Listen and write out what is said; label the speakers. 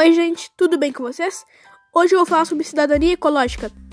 Speaker 1: Oi, gente, tudo bem com vocês? Hoje eu vou falar sobre cidadania ecológica.